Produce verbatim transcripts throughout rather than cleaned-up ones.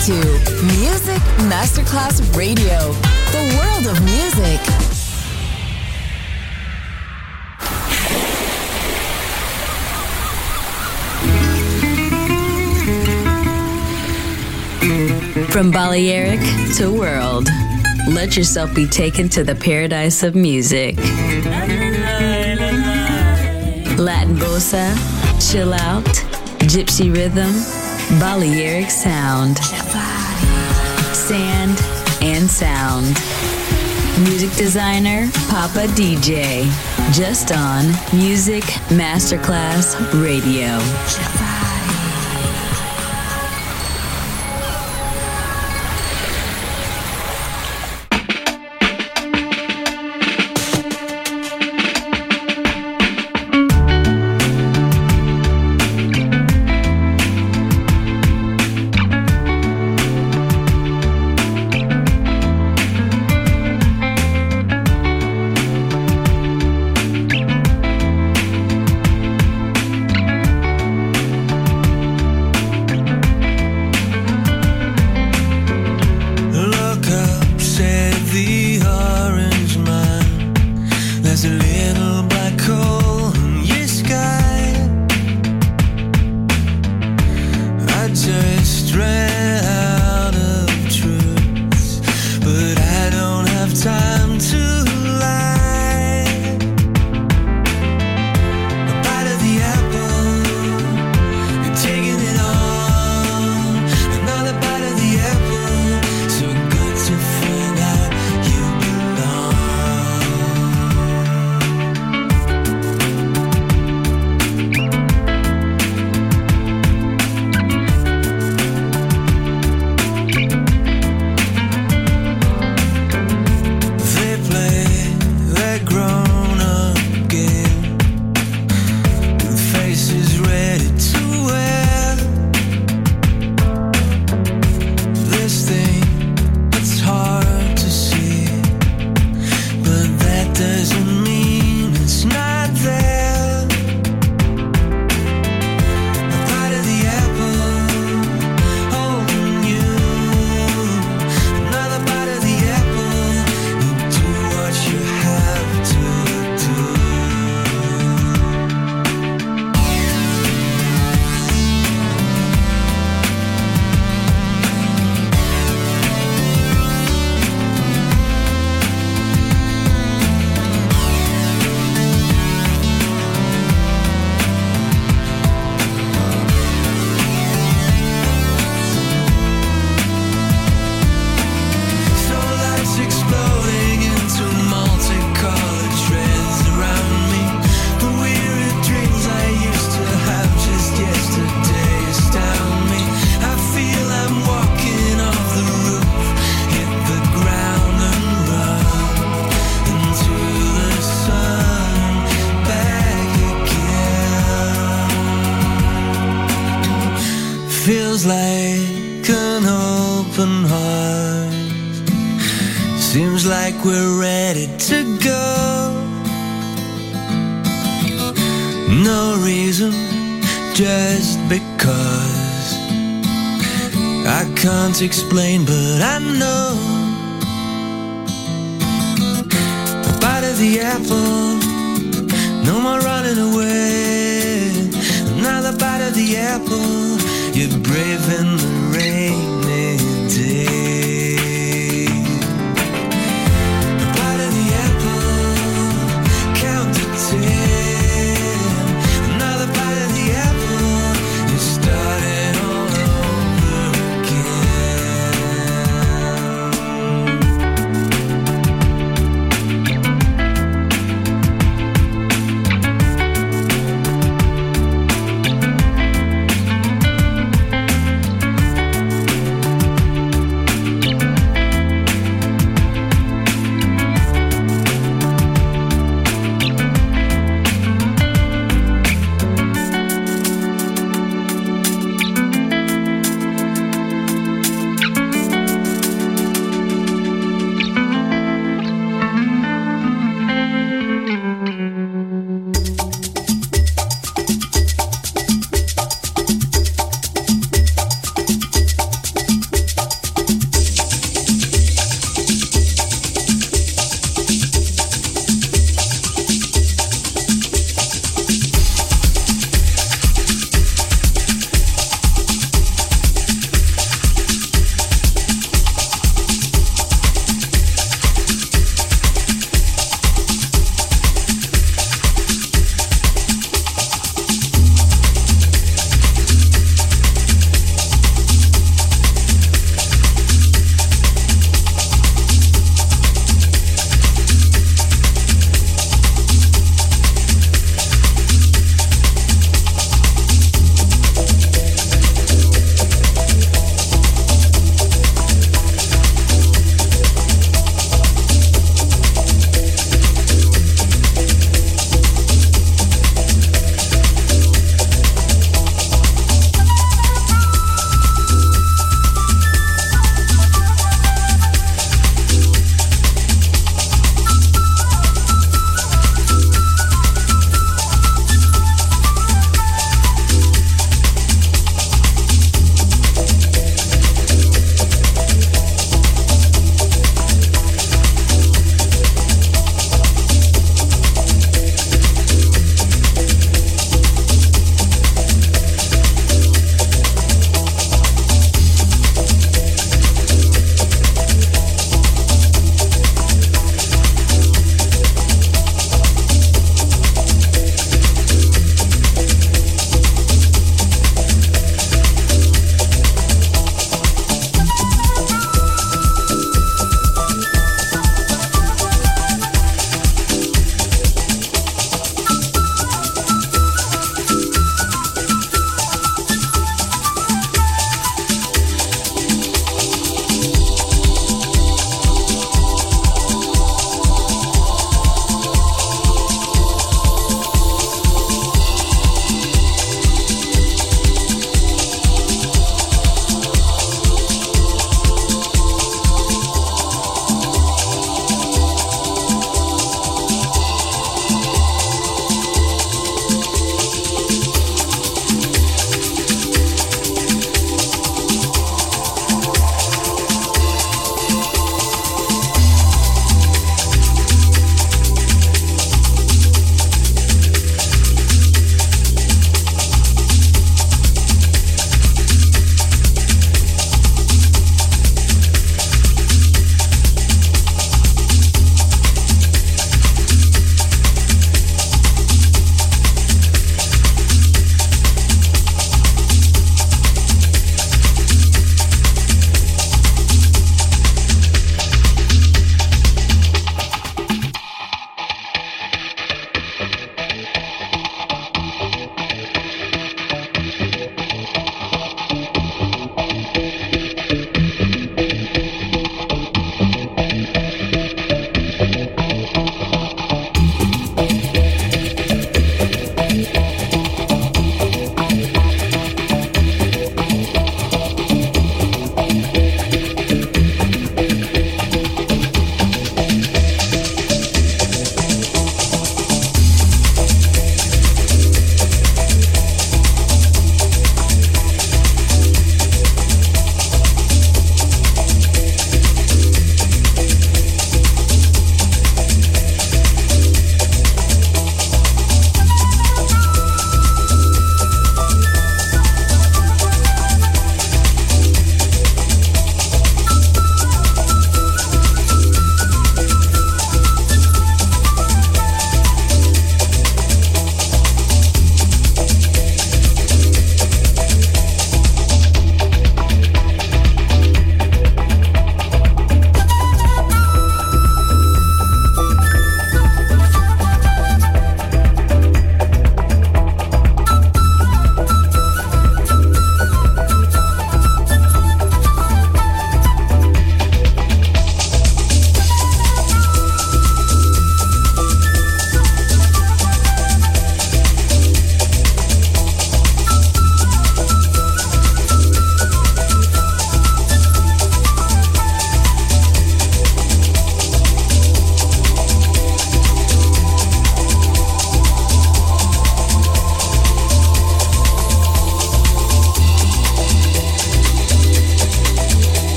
to Music Masterclass Radio, the world of music. From Balearic to world, let yourself be taken to the paradise of music. Latin bossa, chill out, gypsy rhythm, Balearic sound, sand and sound. Music designer, Papa D J, just on Music Masterclass Radio. Feels like an open heart. Seems like we're ready to go. No reason, just because. I can't explain, but I know. A bite of the apple, no more running away. Another bite of the apple, you're brave in the rainy day. A bite of the apple, count to ten. Another bite of the apple, you started all over again.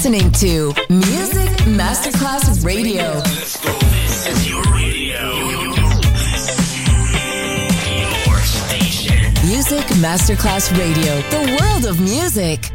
listening to Music Masterclass Radio. Let's go. This is your radio. Your station. Music Masterclass Radio. The world of music.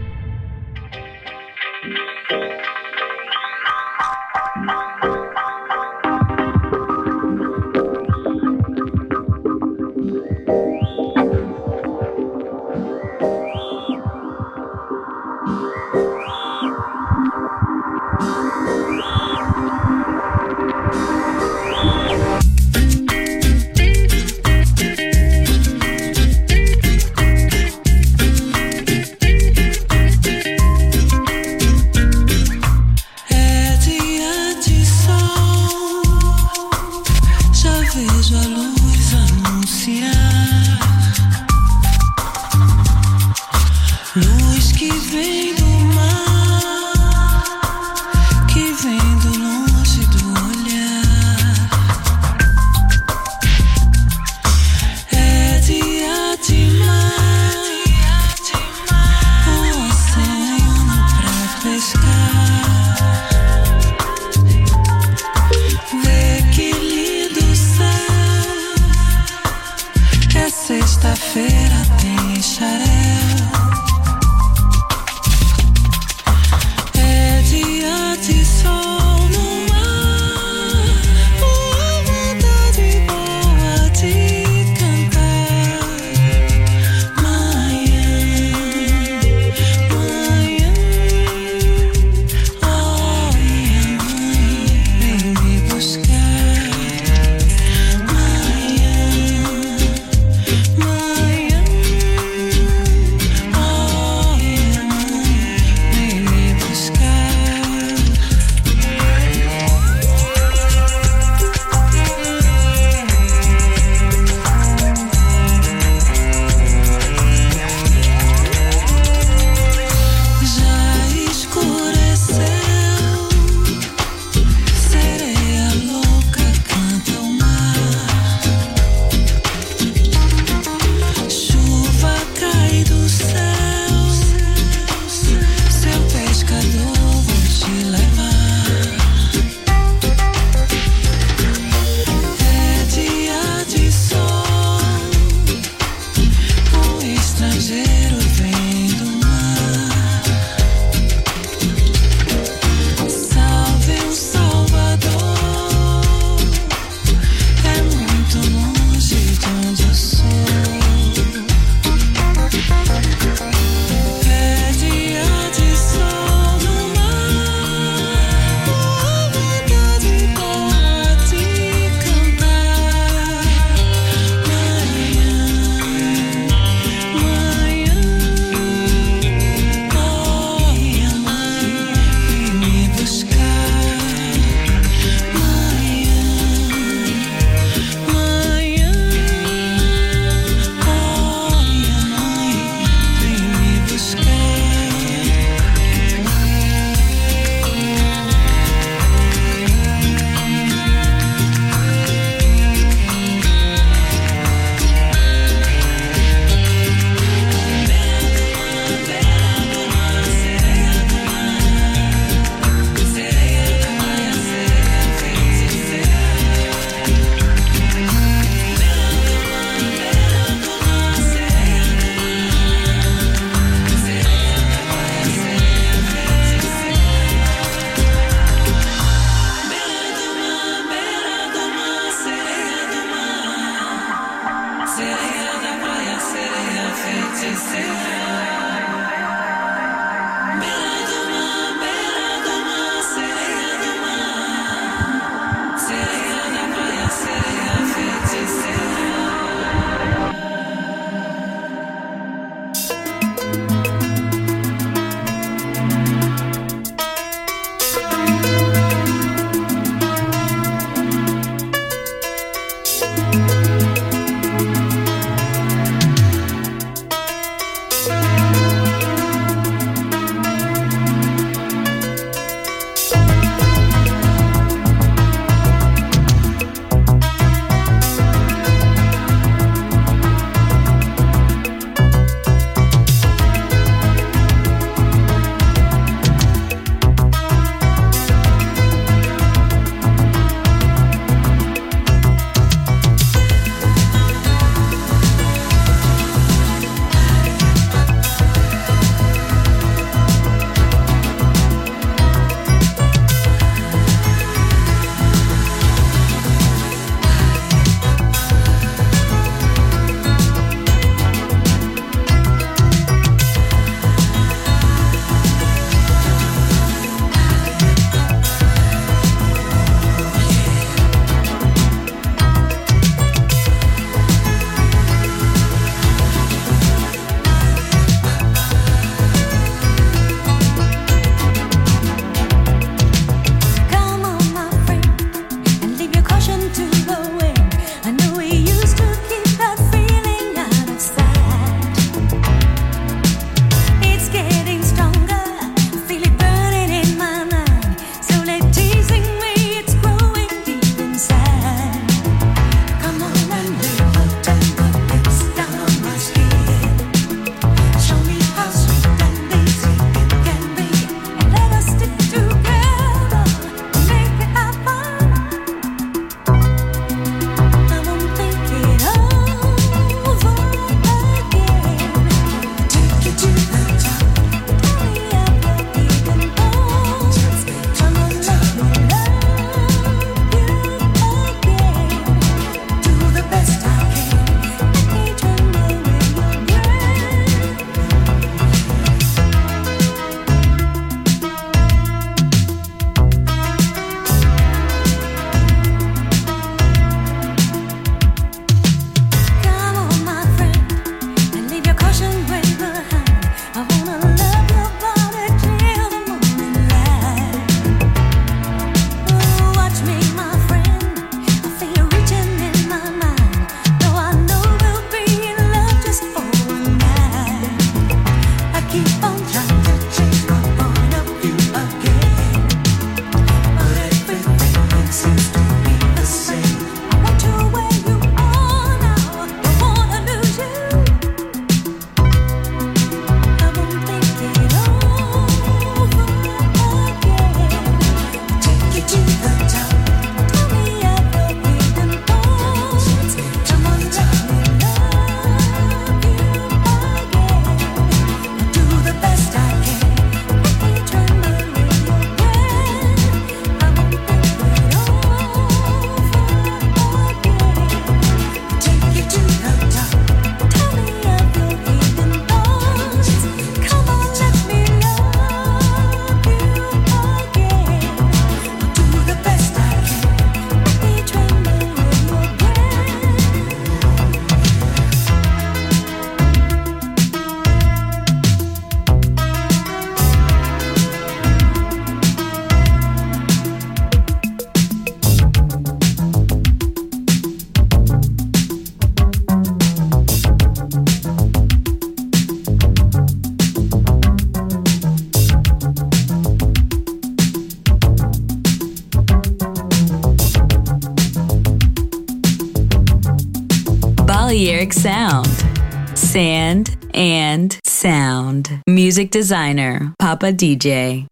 Balearic sound. Sand and Sound. Music designer, Papa D J.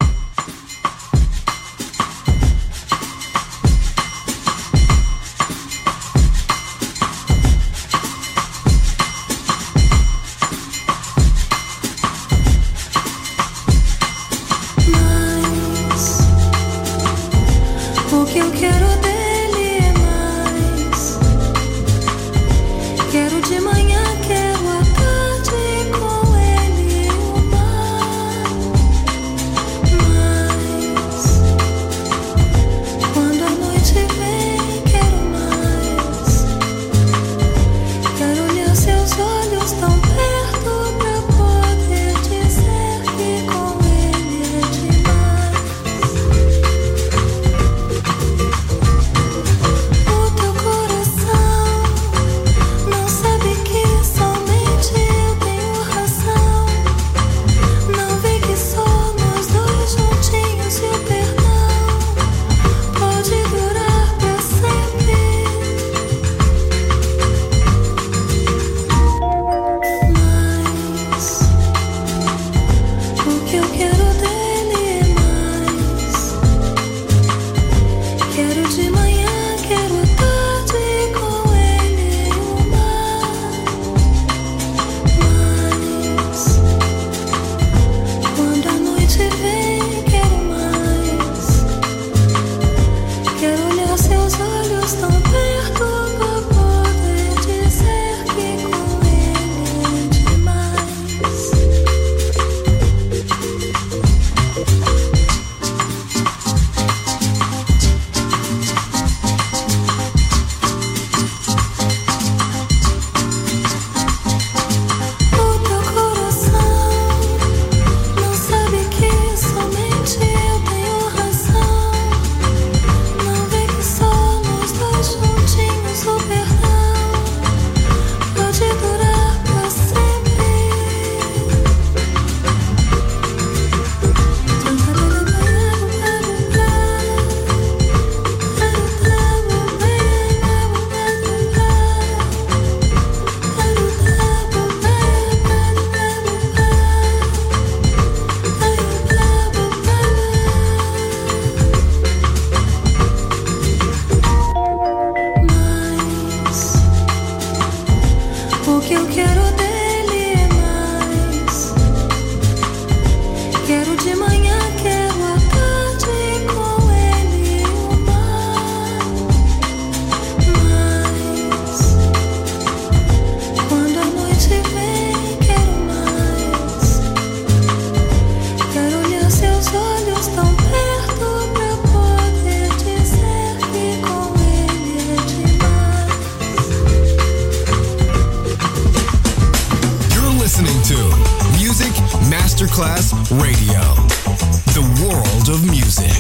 O que eu quero dele é mais. Quero de manhã, quero à tarde com ele o mar. Mas quando a noite vem, quero mais. Quero olhar seus olhos tão perto pra poder dizer que com ele é demais. O teu coração não sabe que somente eu tenho razão. Não vê que só nós dois juntinhos e o perdão pode durar pra sempre. Mas o que eu quero dele é mais. Quero de manhã, quero à tarde com ele o mar. Mas quando a noite vem, quero mais. Quero olhar seus olhos tão perto pra poder dizer que com ele é demais. O teu coração não sabe que somente eu tenho razão. Não vê que só nós dois juntinhos o perdão pode durar pra sempre. Mas o que eu quero dele é mais. Quero de manhã, quero à tarde com ele o mar. Mas quando a noite vem, quero mais. Quero olhar seus olhos tão perto pra poder dizer que com ele é demais. You're listening to Music Masterclass Radio, the world of music.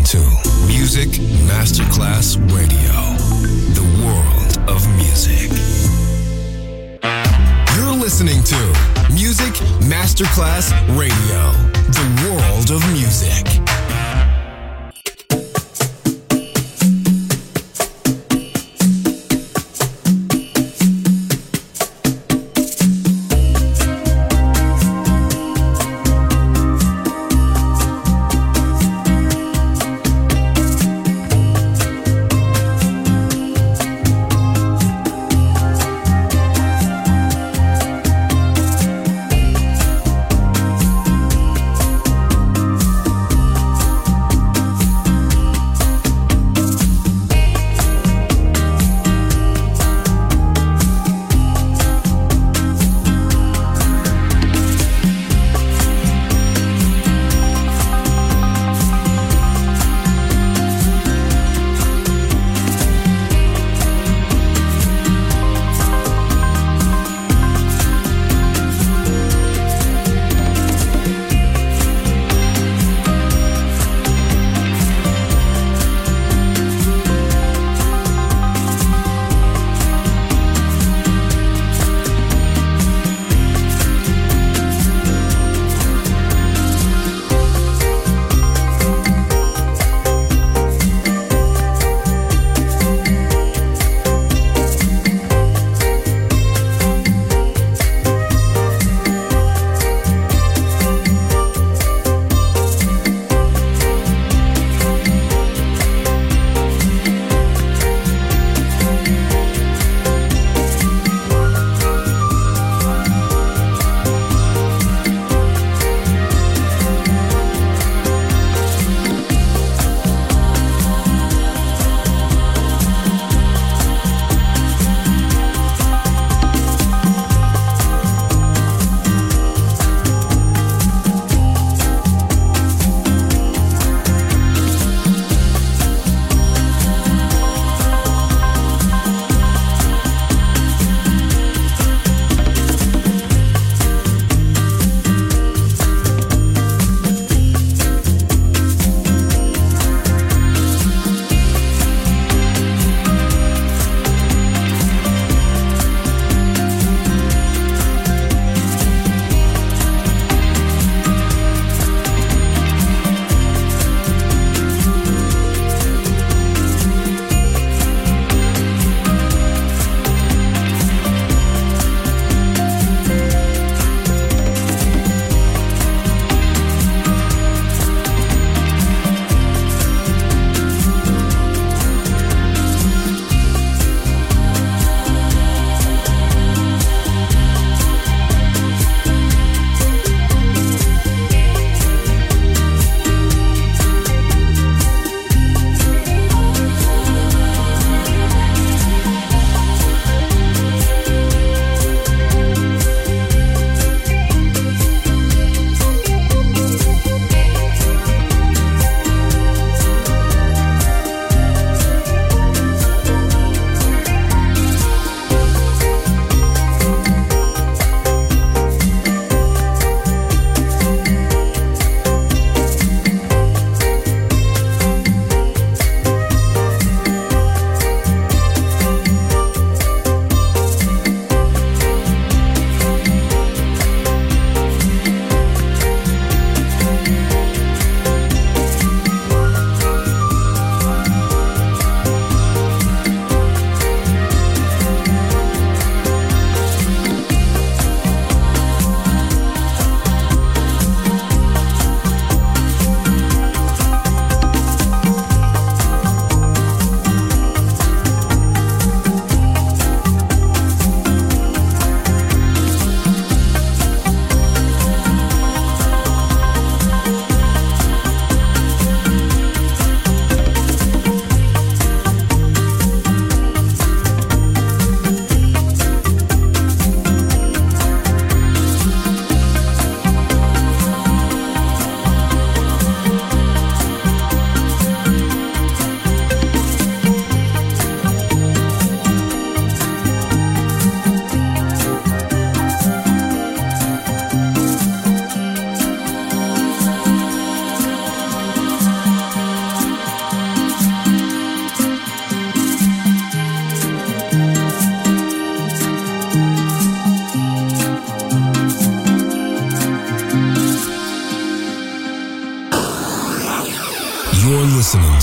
to Music Masterclass Radio, the world of music. You're listening to Music Masterclass Radio, the world of music.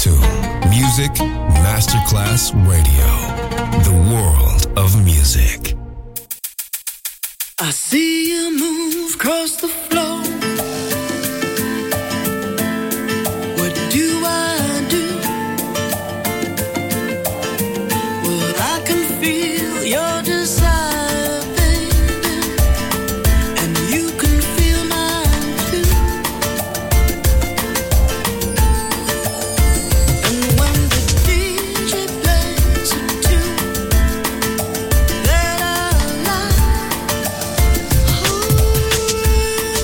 to Music Masterclass Radio, the world of music. I see you move across the floor. What do I do? Well, I can feel your desire, baby, and you can feel mine too. And when the D J plays a tune that I like, ooh,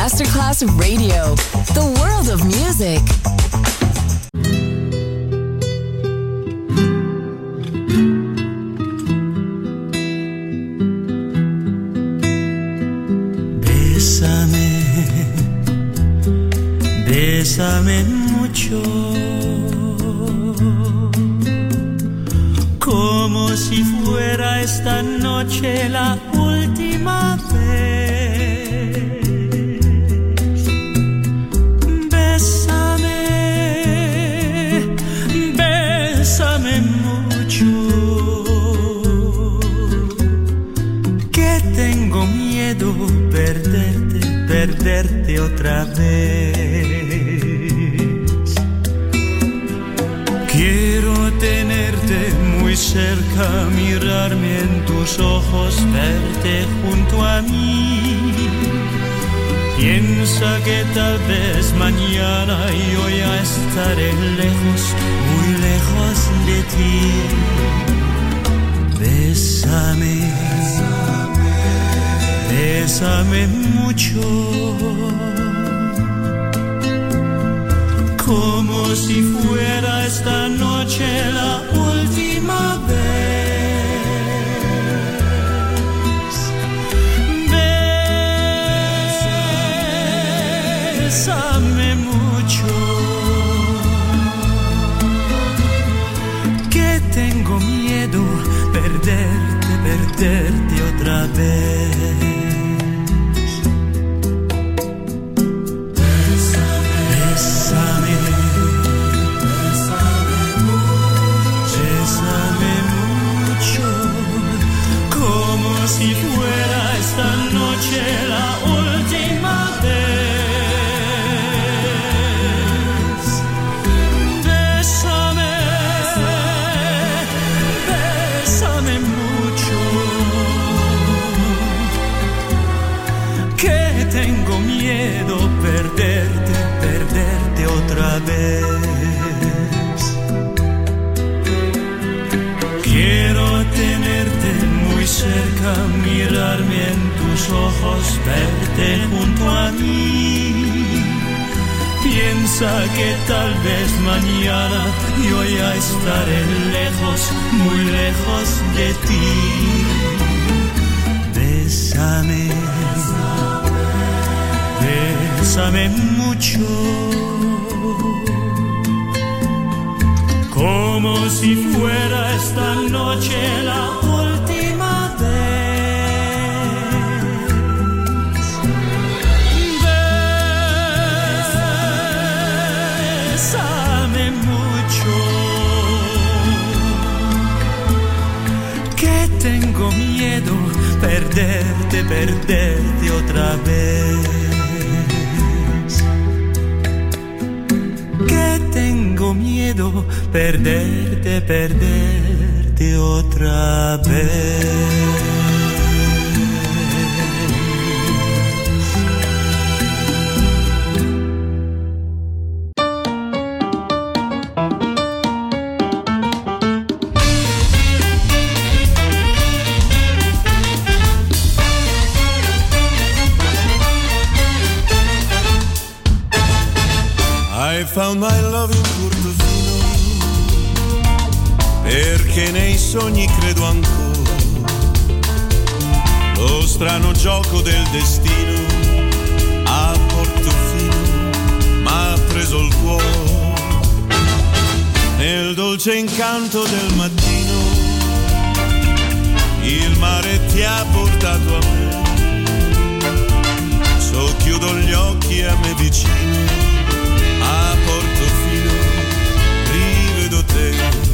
Masterclass Radio, the world of music. Bésame, bésame mucho, como si fuera esta noche la última vez. Bésame, bésame mucho, que tengo miedo perderte, perderte otra vez. Quiero tenerte muy cerca, mirarme en tus ojos, verte junto a mí. Piensa que tal vez mañana yo ya estaré lejos, muy lejos de ti. Bésame, bésame mucho, como si fuera esta noche la última vez. Bésame mucho, que tengo miedo perderte, perderte otra vez. Si fuera esta noche la última vez. Bésame, bésame mucho, que tengo miedo perderte, perderte otra vez. Quiero tenerte muy cerca, mirarme en tus ojos, verte junto a mí. Piensa que tal vez mañana yo ya estaré lejos, muy lejos de ti. Bésame, bésame mucho, como si fuera esta noche la última vez. Bésame mucho, que tengo miedo perderte, perderte otra vez. Que tengo miedo perderte, perderte otra vez. I found my love in Portofino, perché nei sogni credo ancora. Lo strano gioco del destino a Portofino m'ha preso il cuore. Nel dolce incanto del mattino il mare ti ha portato a me. Socchiudo gli occhi a me vicino, a Portofino rivedo te.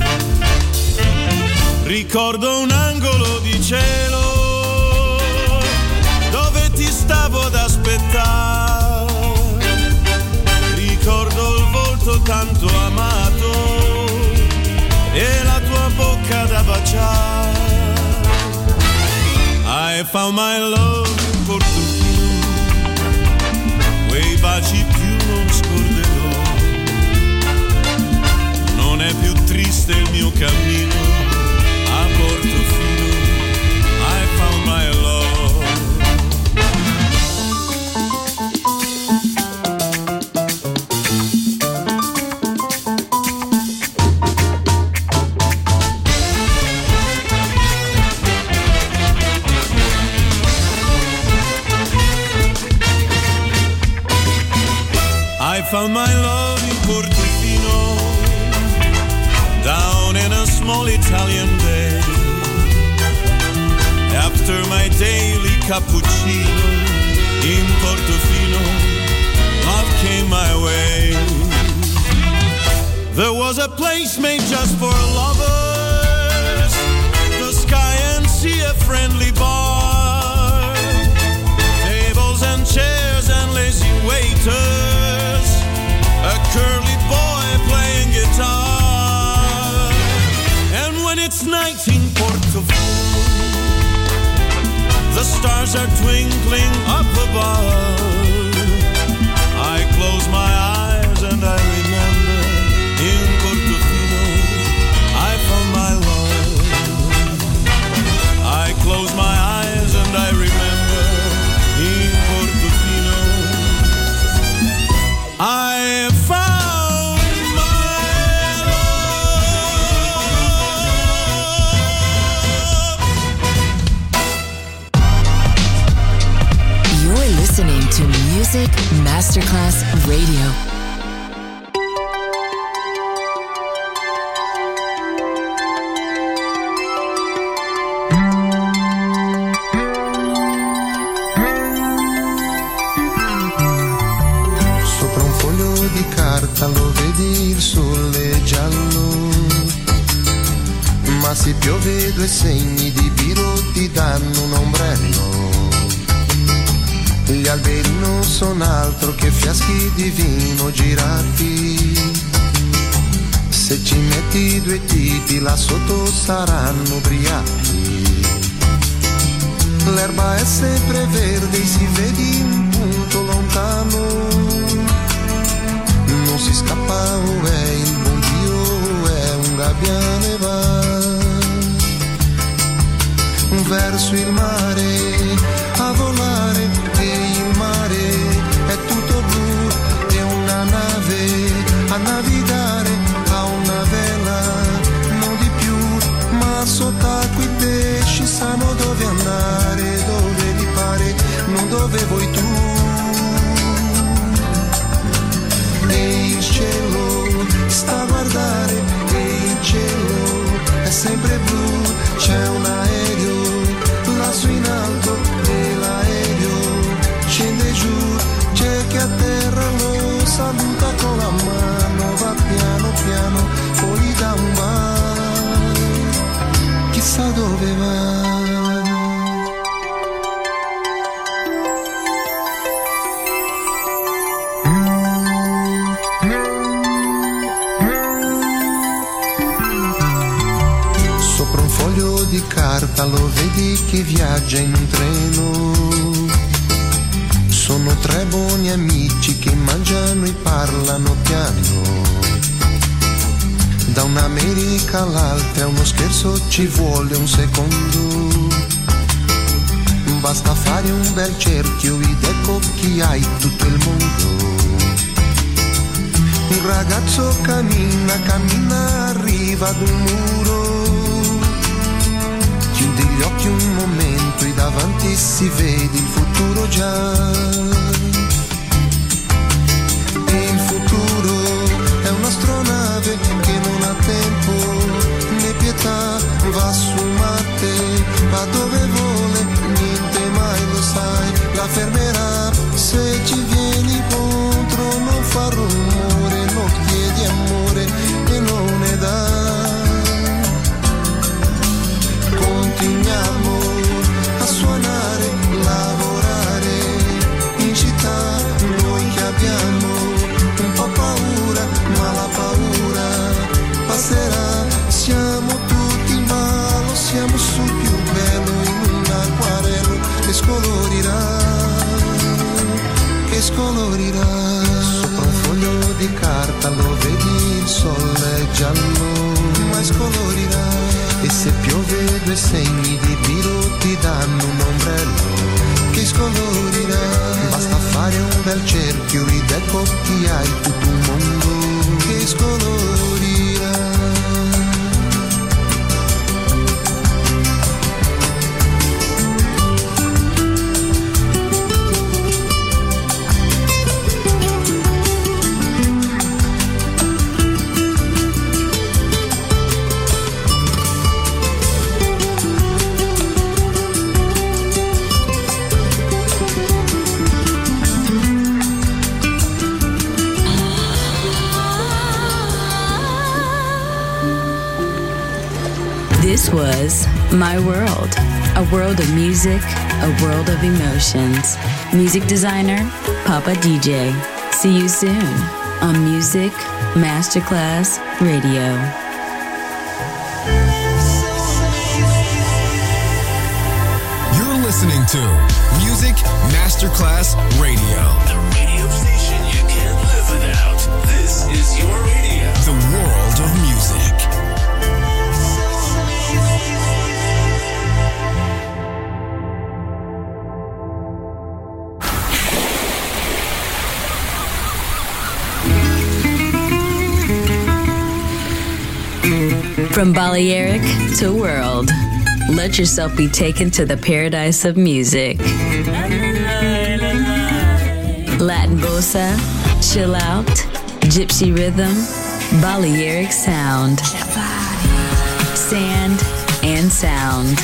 Ricordo un angolo di cielo dove ti stavo ad aspettare. Ricordo il volto tanto amato e la tua bocca da baciare. I found my love in Portofino, quei baci più non scorderò. Non è più triste il mio cammino a Portofino. I found my love. found my love in Portofino, down in a small Italian bay. After my daily cappuccino in Portofino, love came my way. There was a place made just for lovers, the sky and sea, a friendly bar, tables and chairs and lazy waiters, a curly boy playing guitar. And when it's night in Portofino, the stars are twinkling up above. I close my eyes and I remember in Portofino I found my love. I close my eyes and I remember in Portofino I found my love. You're listening to Music Masterclass Radio. Lo vedi il sole giallo, ma se piove due segni di biro ti danno un ombrello. Gli alberi non sono altro che fiaschi di vino girati, se ci metti due tipi là sotto saranno ubriachi. L'erba è sempre verde, si vedi un punto lontano, non si scappa, oh, è il buon Dio, è un gabbiane va verso il mare a volare, e il mare è tutto blu, è una nave a navigare, ha una vela, non di più, ma sott'acqua i pesci sanno dove andare, dove gli pare, non dove vuoi tu. E il cielo sta a guardare, e il cielo è sempre blu, c'è un aereo lassù in alto e l'aereo scende giù, c'è che a terra lo saluta con la mano, va piano piano, poi gli dà un bacio, chissà dove va. Di carta lo vedi che viaggia in un treno, sono tre buoni amici che mangiano e parlano piano, da un'America all'altra uno scherzo ci vuole un secondo, basta fare un bel cerchio ed ecco chi hai tutto il mondo. Un ragazzo cammina, cammina, arriva ad un muro, chiudi gli occhi un momento e davanti si vede il futuro già. E il futuro è un'astronave che non ha tempo né pietà, va su Marte, va dove vuole, niente mai lo sai, la fermerà. Se ci vieni contro non fa rumore, non chiedi amore e non ne dà. Continuiamo a suonare, lavorare in città, noi che abbiamo un po' paura, ma la paura passerà, siamo tutti in ballo, siamo sul più bello in un acquarello che scolorirà, che scolorirà. Sopra un foglio di carta lo vedi, il sole è giallo, ma scolorirà. E se piove due segni di biro ti danno un ombrello che scolorirà. Basta fare un bel cerchio ed ecco chi hai tutto un mondo che scolorirà. This was My World, a world of music, a world of emotions. Music designer, Papa D J. See you soon on Music Masterclass Radio. You're listening to Music Masterclass Radio. The radio station you can't live without. This is your radio. The world of music. From Balearic to world, let yourself be taken to the paradise of music. Latin bossa, chill out, gypsy rhythm, Balearic sound, sand and sound.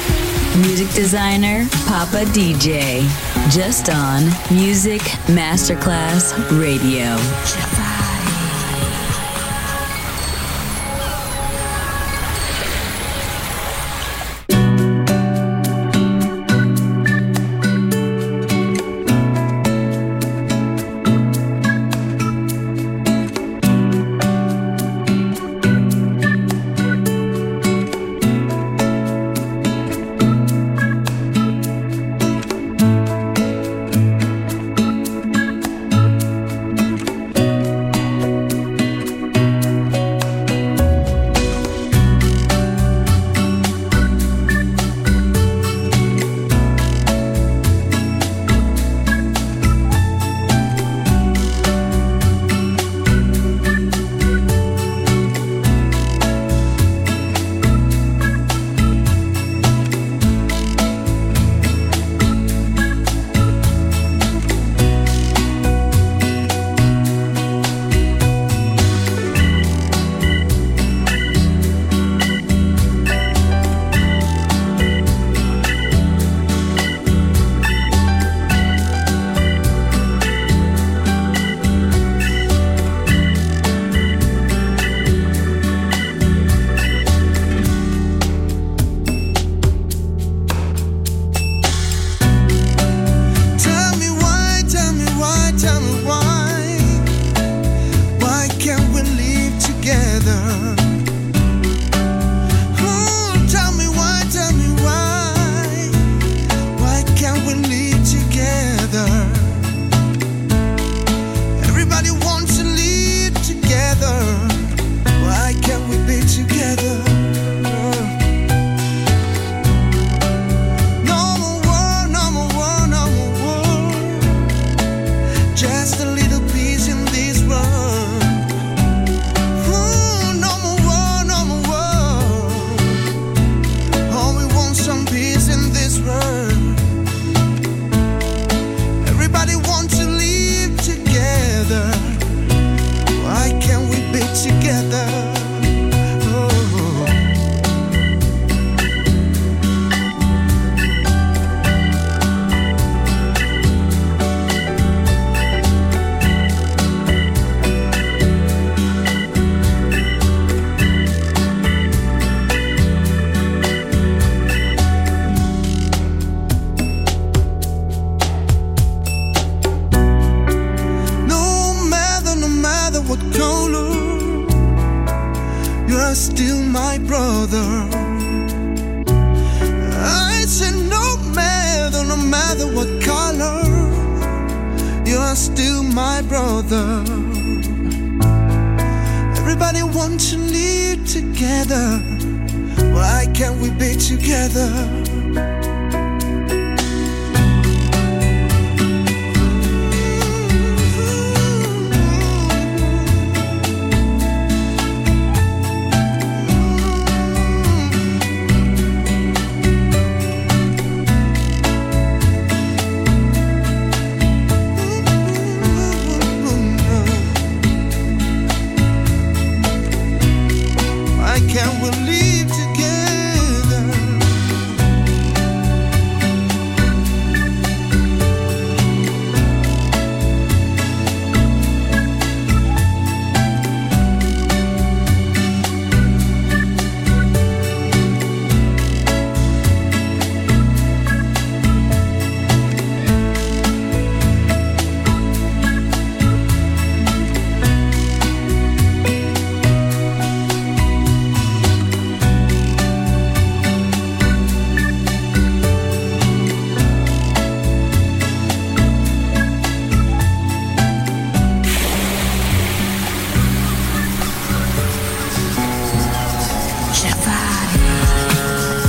Music designer, Papa D J, just on Music Masterclass Radio. Can we live together?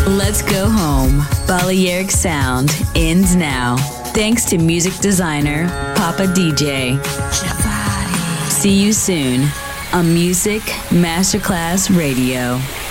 Let's go home. Balearic Sound ends now. Thanks to music designer Papa D J. See you soon on Music Masterclass Radio.